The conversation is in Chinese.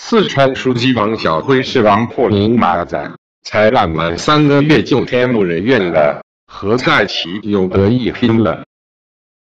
四川书记王晓辉是王破宁马仔，才烂完3个月就天怒人怨了，何在其有得一拼了。